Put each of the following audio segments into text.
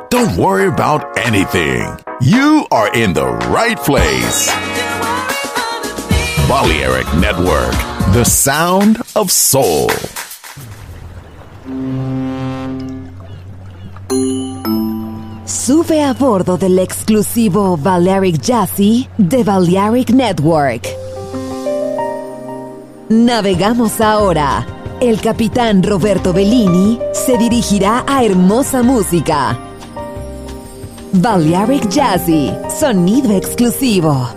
Don't worry about anything. You are in the right place. Balearic Network, the sound of soul. Sube a bordo del exclusivo Balearic Jazzy de Balearic Network. Navegamos ahora. El capitán Roberto Bellini se dirigirá a hermosa música. Balearic Jazzy, sonido exclusivo.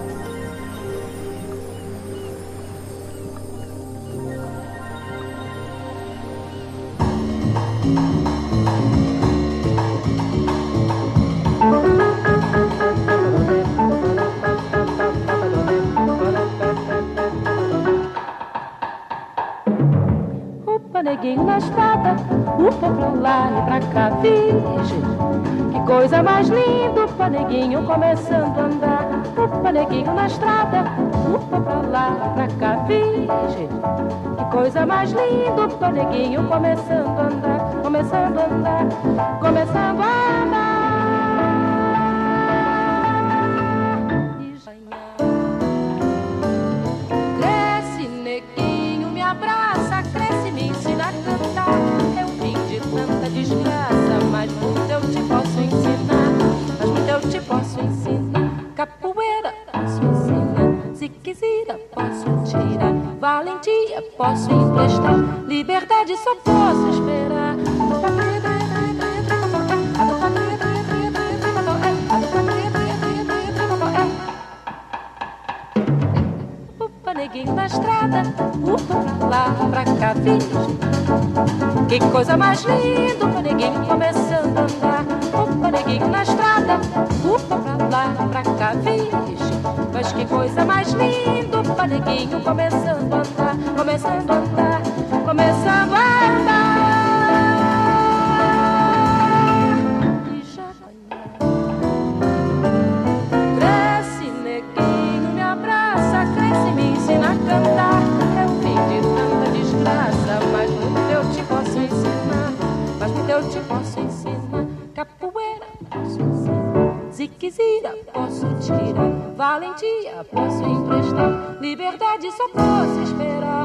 Neguinho na estrada, upa pra lá e pra cá, virgem. Que coisa mais linda, upa neguinho começando a andar. Upa neguinho na estrada, upa pra lá e pra cá, virgem. Que coisa mais linda, upa neguinho começando a andar, começando a andar, começando a andar. Cresce neguinho, me abraça, cresce, me ensina a cantar. Eu vim de tanta desgraça, mas muito eu te posso ensinar. Mas muito eu te posso ensinar. Capoeira posso ensinar, se quiser posso tirar. Valentia posso emprestar, liberdade só posso esperar. Neguinho na estrada, upa pra lá, pra cá, virgem. Que coisa mais linda, upa neguinho começando a andar. Upa neguinho na estrada, upa pra lá, pra cá, virgem. Mas que coisa mais linda, upa neguinho começando a andar, começando a andar, começando a andar. E já cresce neguinho, me abraça, cresce, me ensina a cantar. Eu vim de tanta desgraça, mas muito eu te posso ensinar. Mas muito eu te posso ensinar. Capoeira posso ensinar, ziquezira posso tirar. Valentia posso emprestar, liberdade só posso esperar.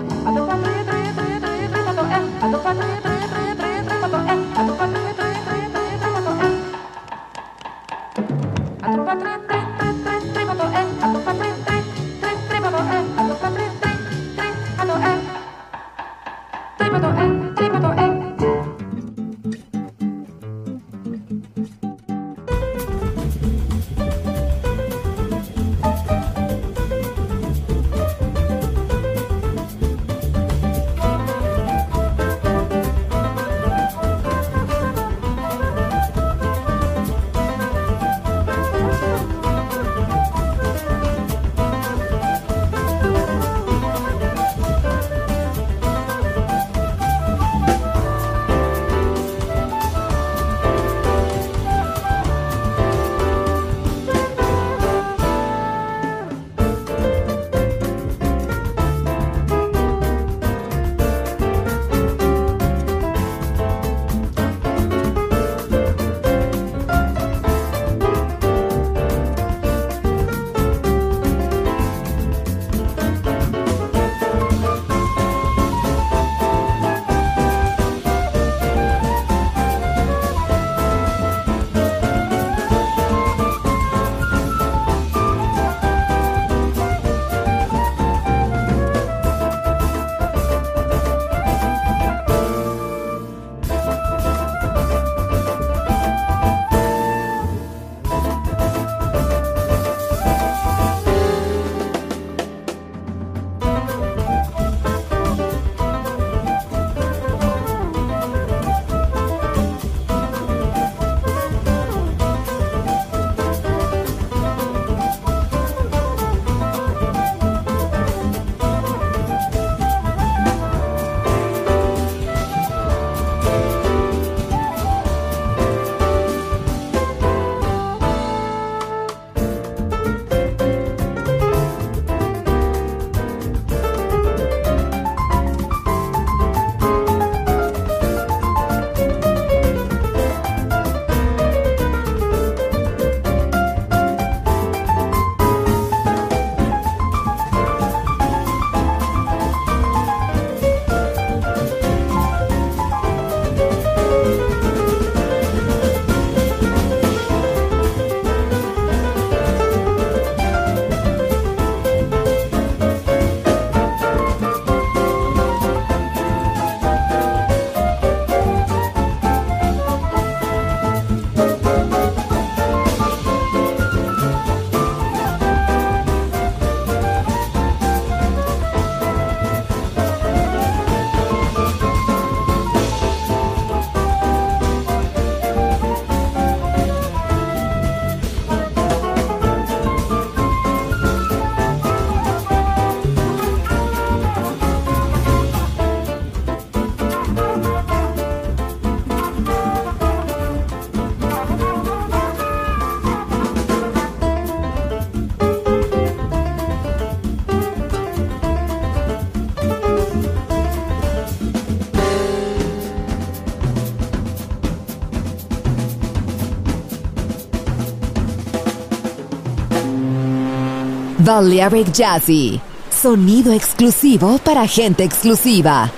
Balearic Jazzy, sonido exclusivo para gente exclusiva.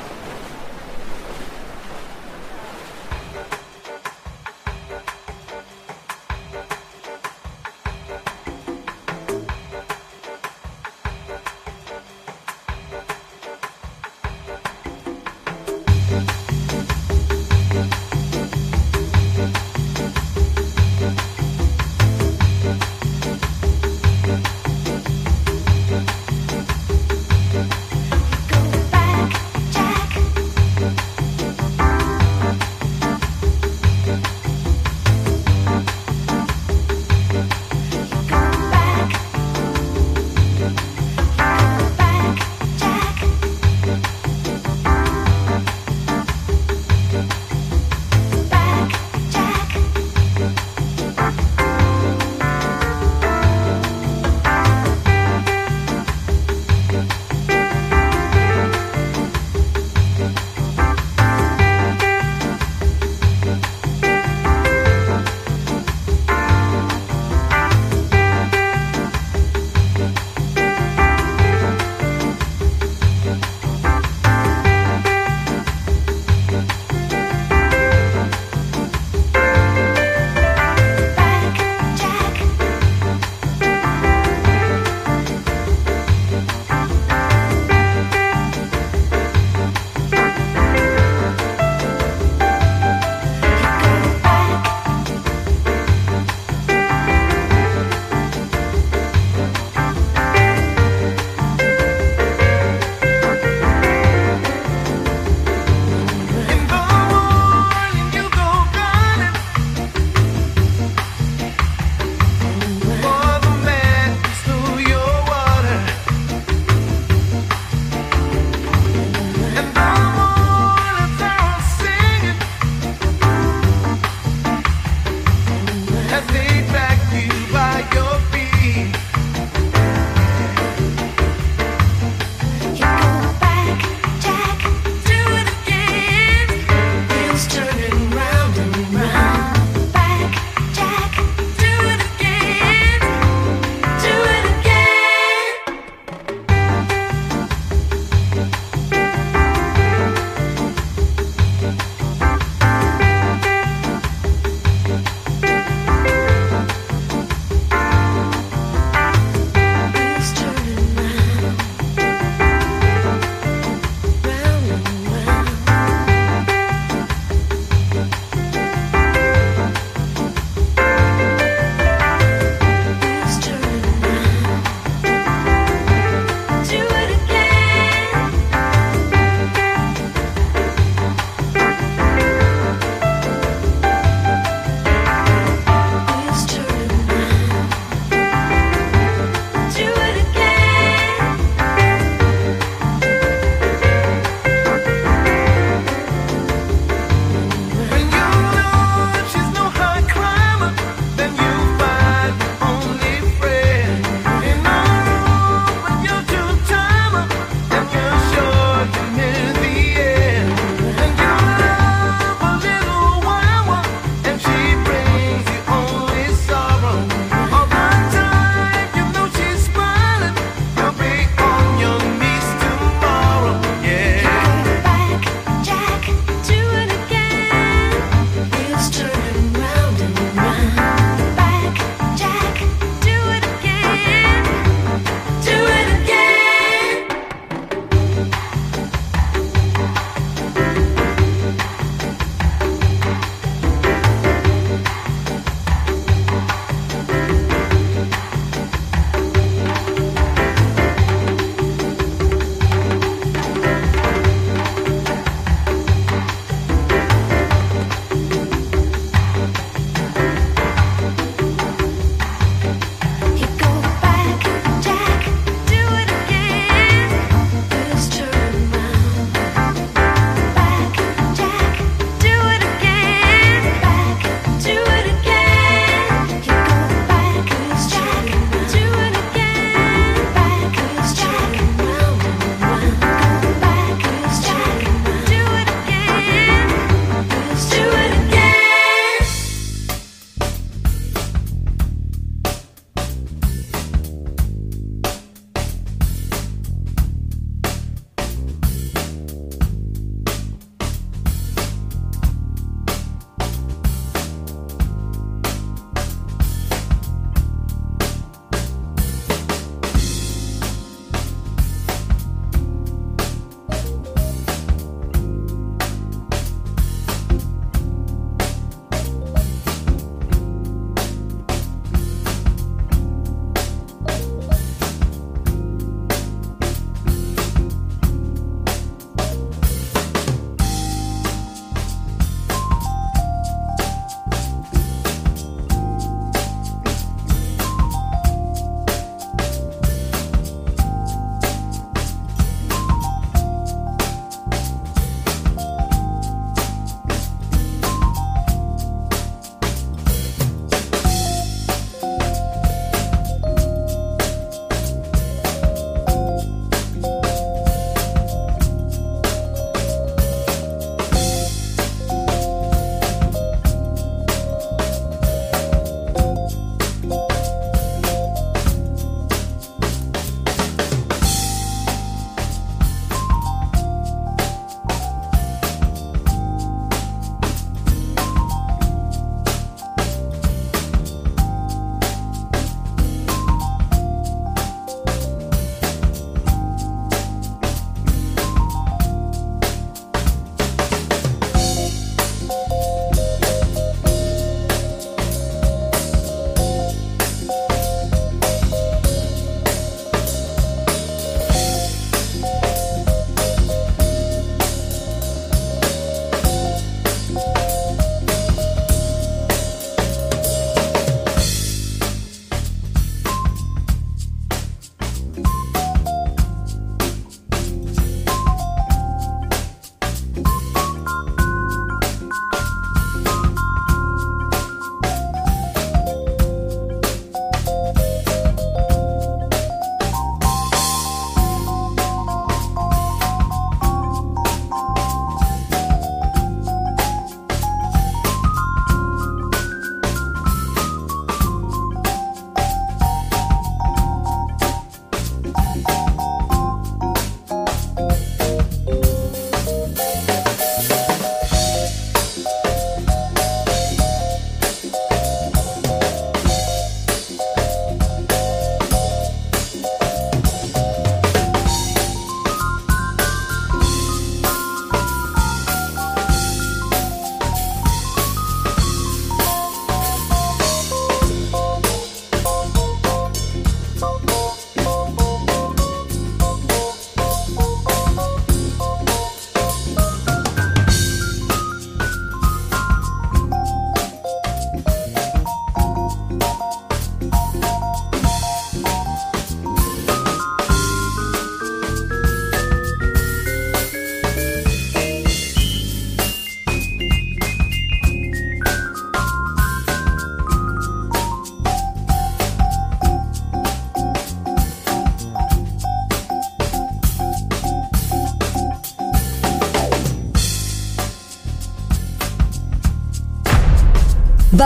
Jack.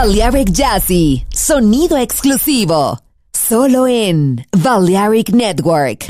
Balearic Jazzy, sonido exclusivo, solo en Balearic Network.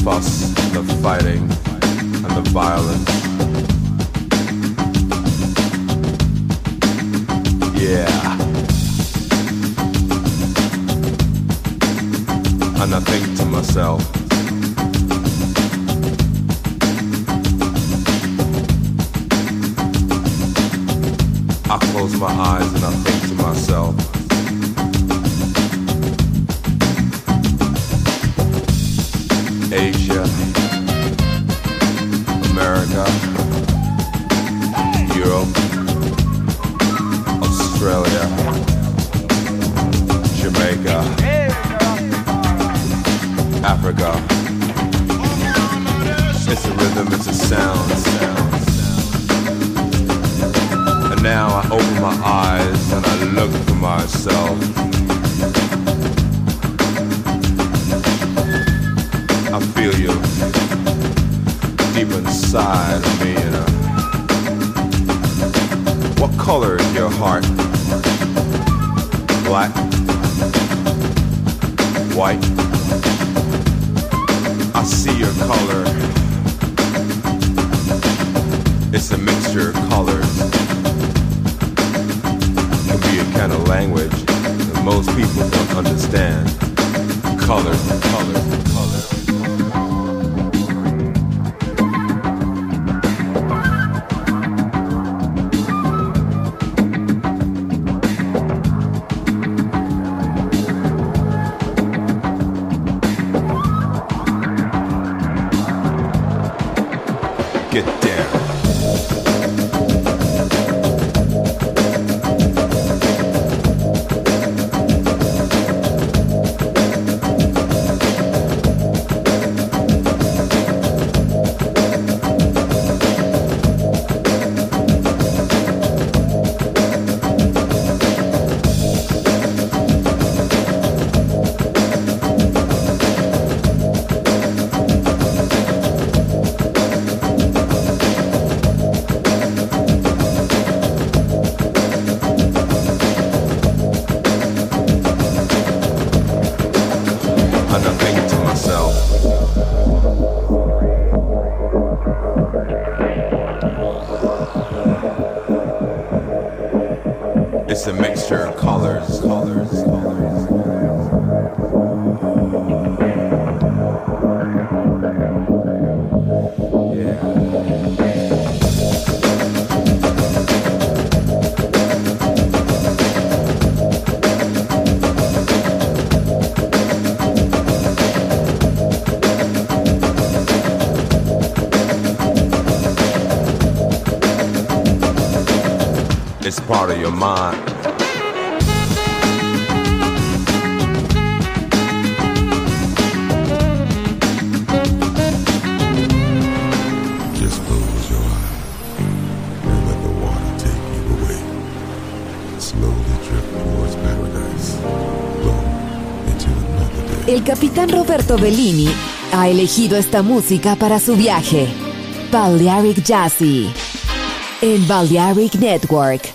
fuss, the fighting, and the violence. Yeah. And I think to myself, I close my eyes and I think to myself, Asia, America, Europe, Australia, Jamaica, Africa. It's a rhythm, it's a sound. And now I open my eyes and I look for myself. I feel you deep inside of me, you know. What color is your heart? Black? White? I see your color. It's a mixture of colors. It can be a kind of language that most people don't understand. Colors and colors and colors. Get down. It's a mixture of colors. It's part of your mind. Just close your eyes and let the water take you away. Slowly drift towards paradise. Flow into another day. El capitán Roberto Bellini ha elegido esta música para su viaje. Balearic Jazzy en Balearic Network.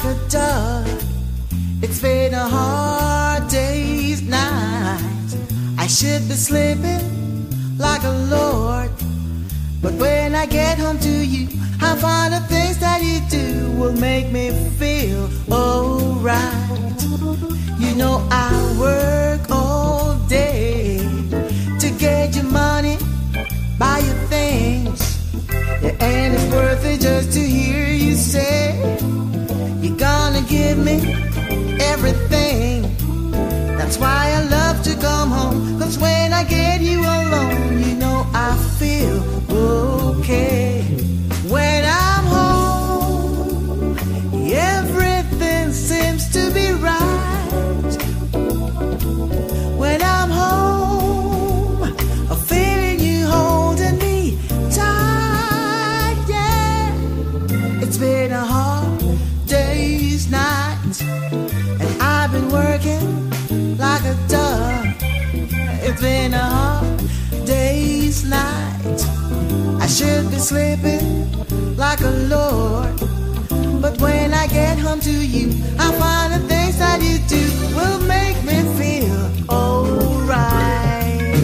like a dove. It's been a hard day's night. I should be sleeping like a lord, but when I get home to you, I find the things that you do will make me feel alright. You know I work all day to get your money, buy your things, yeah, and it's worth it just to hear you say you're gonna give me everything. That's why I love to come home, 'cause when I get you alone, you know I feel okay. When I'm home, everything seems to be right. When I'm home, I'm feeling you holding me tight, yeah. It's been a hard day's night, and I've been working like a dove. It's been a hard day's night. I should be sleeping like a lord, but when I get home to you, I find the things that you do will make me feel alright.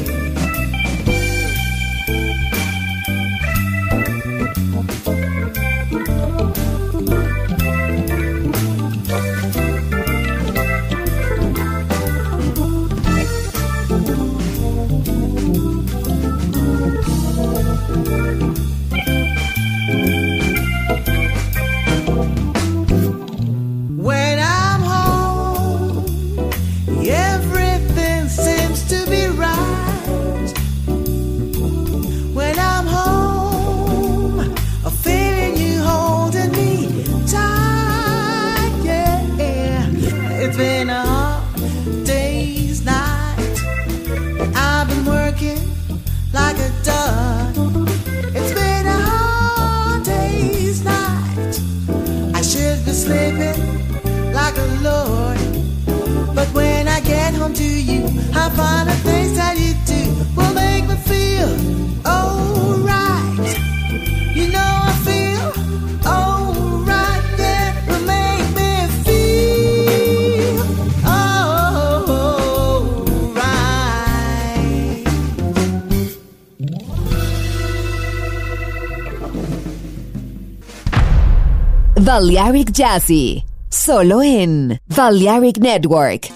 When I'm home, everything seems to be right. When I'm home, I'm feeling you holding me tight, yeah. It's been a hard day's night, and I've been working like a dove. It's been a hard day's night. I should be sleeping like a lord, but when I get home to you, I find the things that you do will make me feel alright. You know I feel alright, yeah, will make me feel alright. Balearic Jazzy, solo en Balearic Network.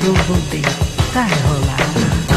eu voltei. Vai rolar.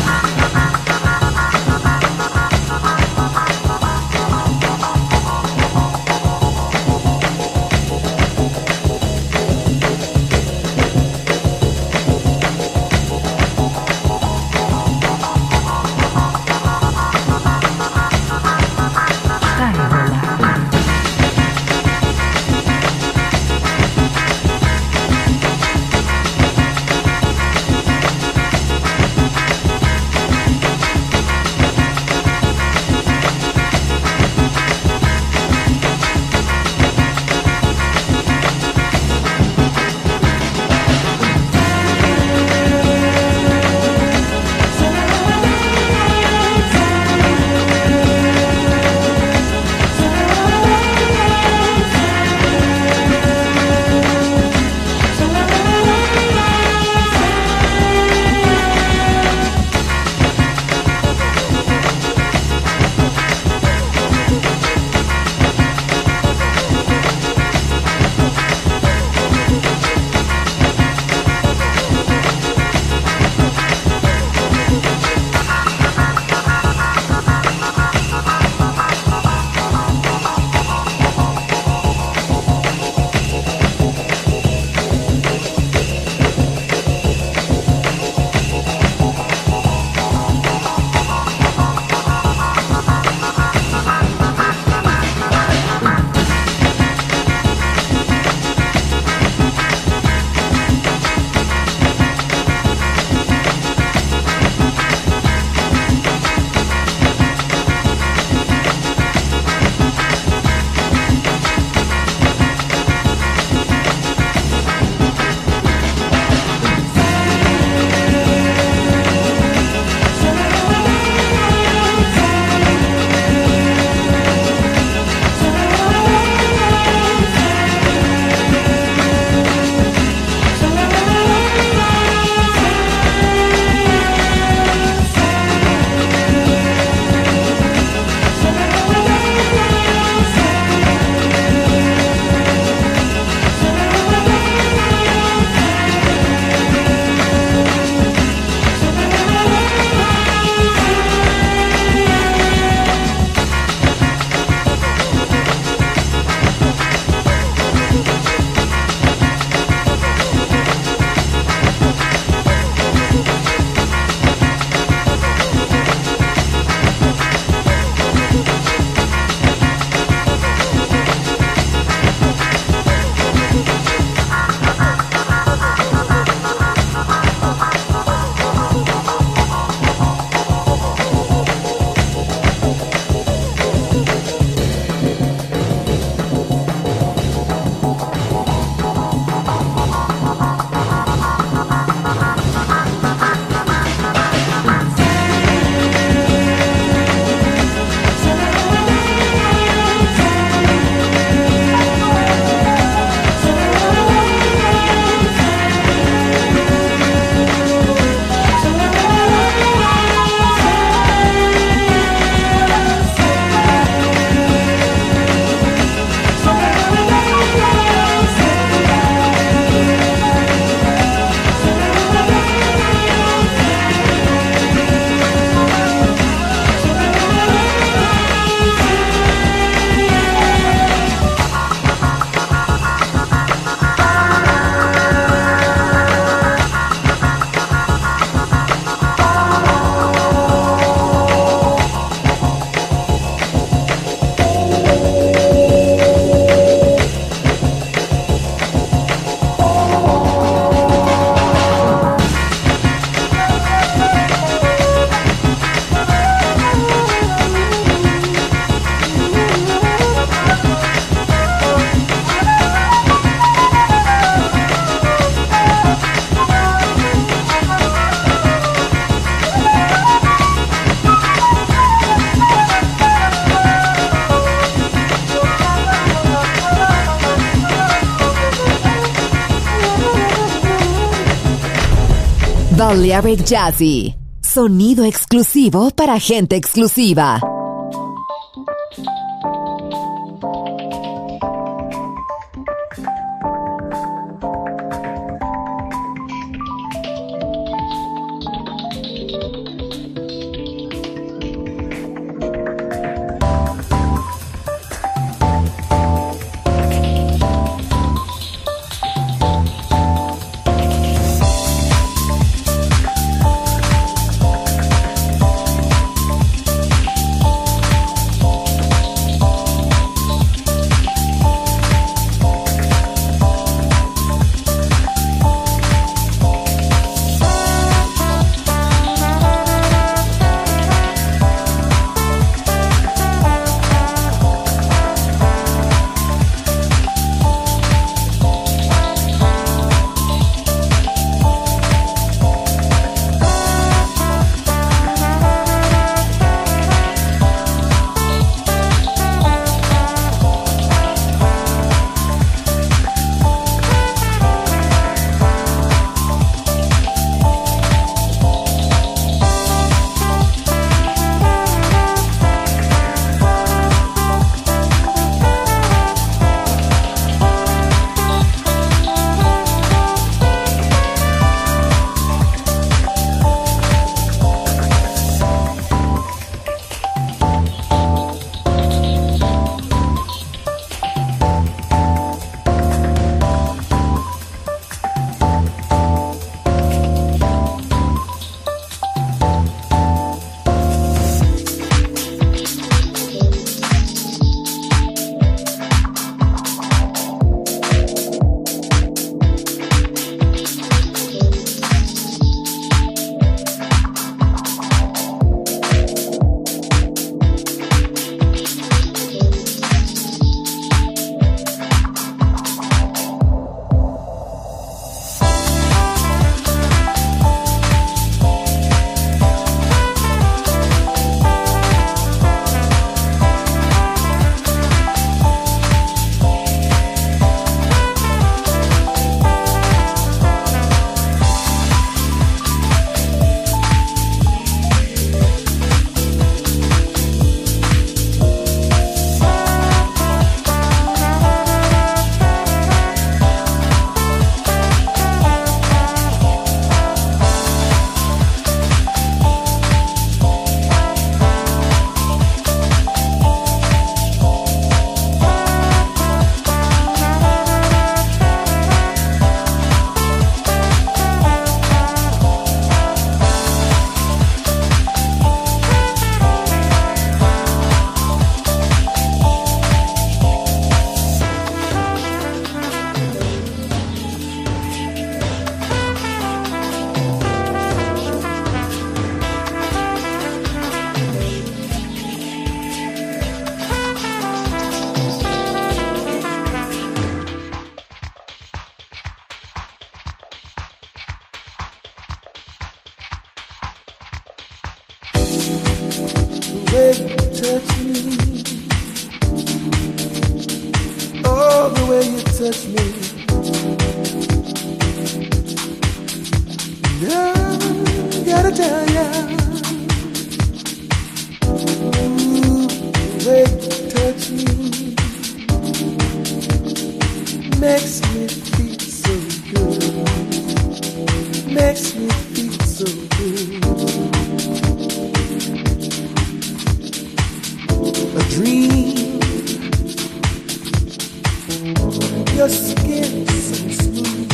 Balearic Jazzy, sonido exclusivo para gente exclusiva. way you touch me. Oh, the way you touch me. I gotta tell ya, the way you touch me makes me feel so good. Makes me feel so good. A dream. Your skin so smooth.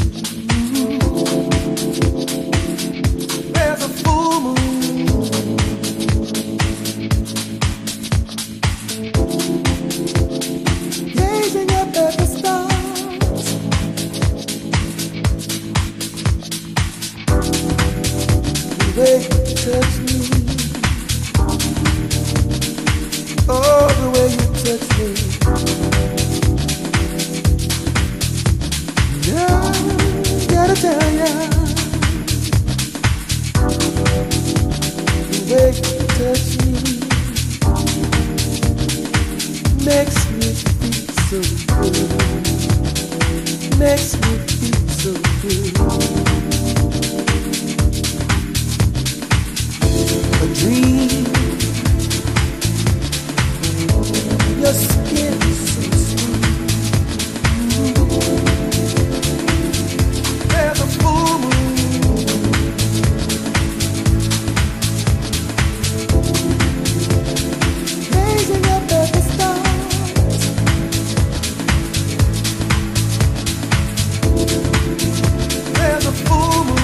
There's a full moon. Gazing up at the stars. The way you touch me. Oh, the way you touch me. Yeah, gotta tell ya, the way you touch me makes me feel so good. Makes me feel so good. A dream. Your skin is so smooth. There's a full moon. Gazing up at the stars. There's a full moon.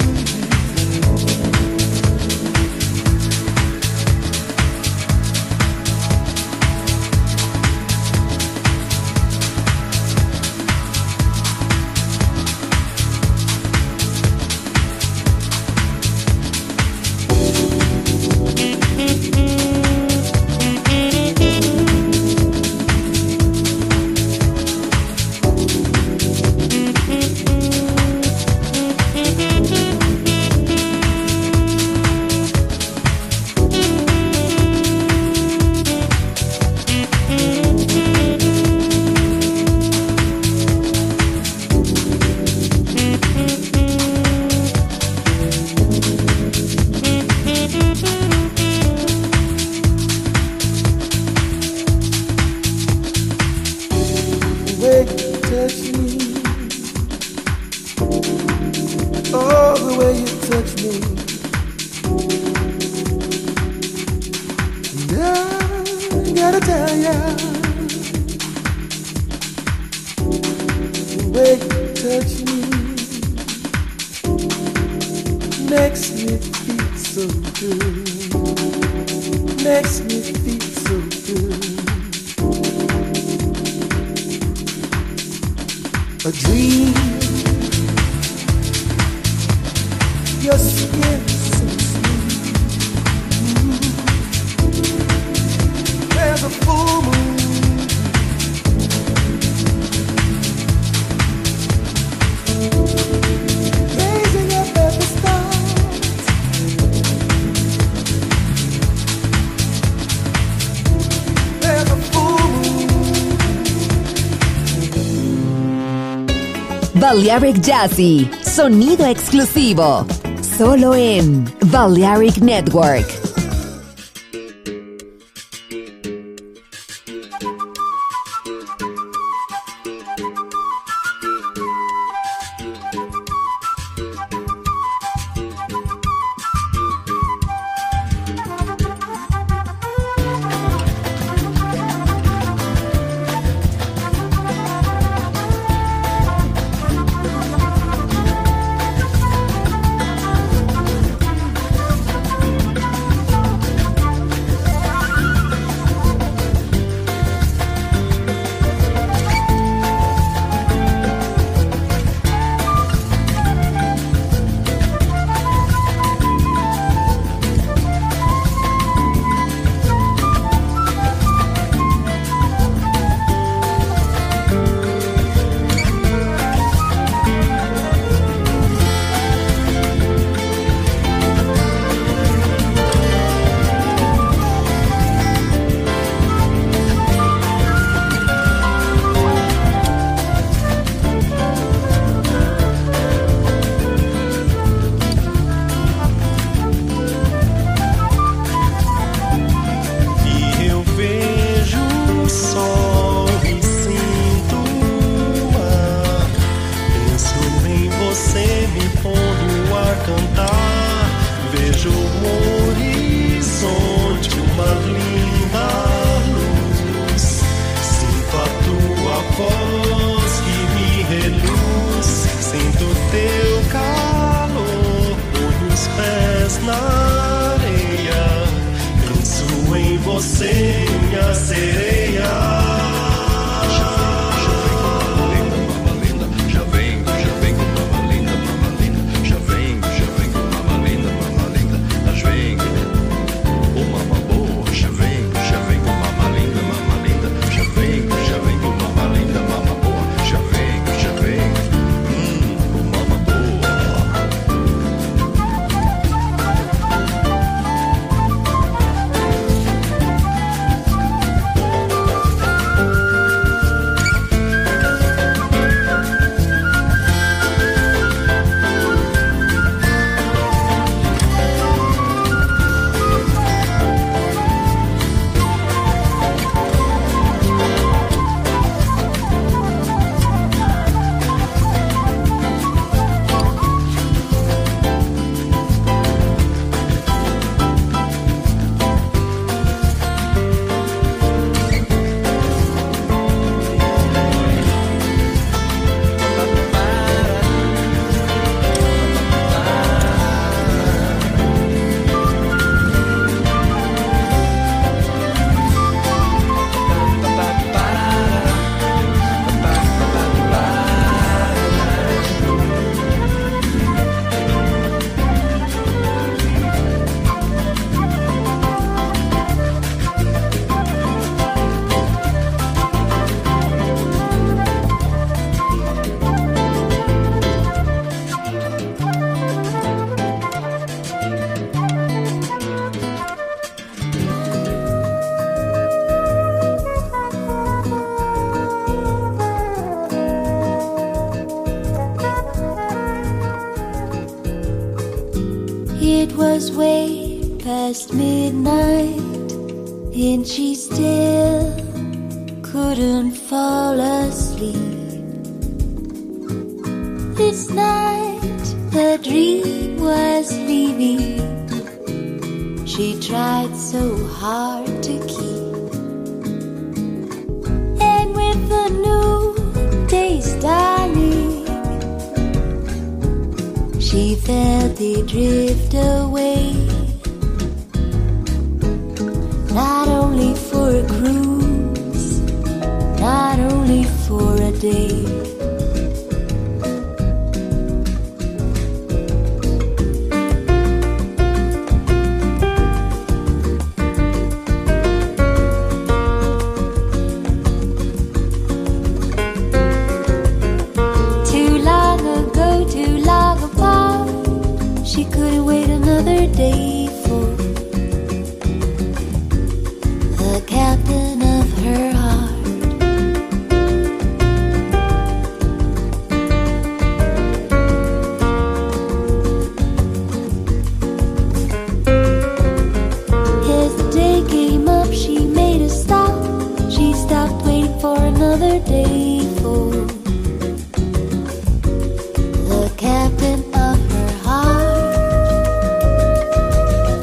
A dream. Your skin so smooth. There's a full moon. Gazing up at the stars. There's a full moon. Balearic Jazzy, sonido exclusivo, solo en Balearic Network. uma linda luz. Sinto a tua voz que me reluz. Sinto teu calor, ponho os pés na areia. Penso em você, minha sereia. It was way past midnight, and she still couldn't fall asleep. This night the dream was leaving. She tried so hard to keep, and with the new day's dawning, she felt it drift away. Not only for a cruise, not only for a day. Too long ago, too long apart, she couldn't wait another day for the captain of her heart. As the day came up, she made a stop. She stopped waiting for another day for the captain of her heart.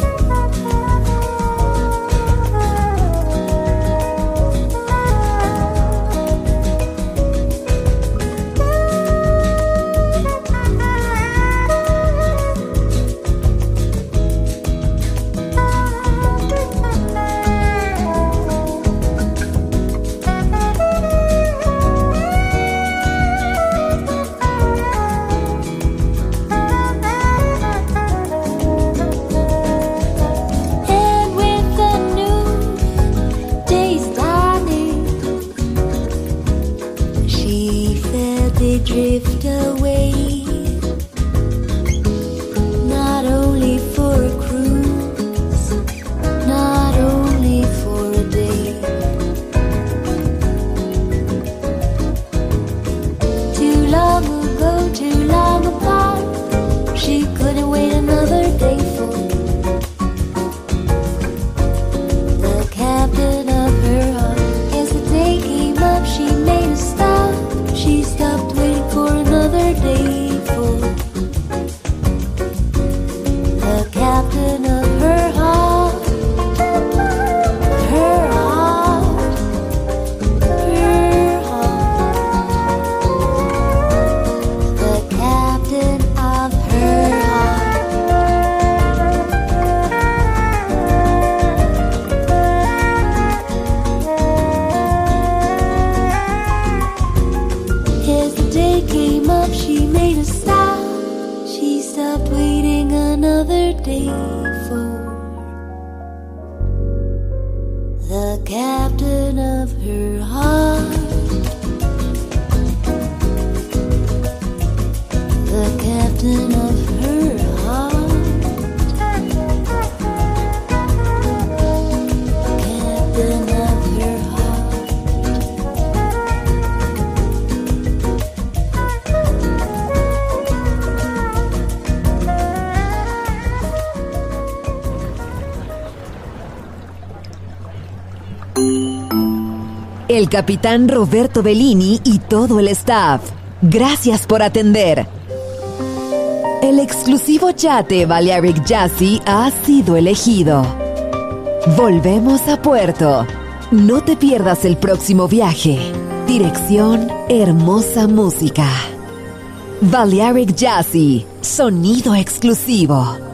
stopped waiting another day for the captain of her heart. The captain of her heart. Captain of her heart. El capitán Roberto Bellini y todo el staff, gracias por atender. El exclusivo yate Balearic Jazzy ha sido elegido. Volvemos a puerto. No te pierdas el próximo viaje. Dirección Hermosa Música. Balearic Jazzy, sonido exclusivo.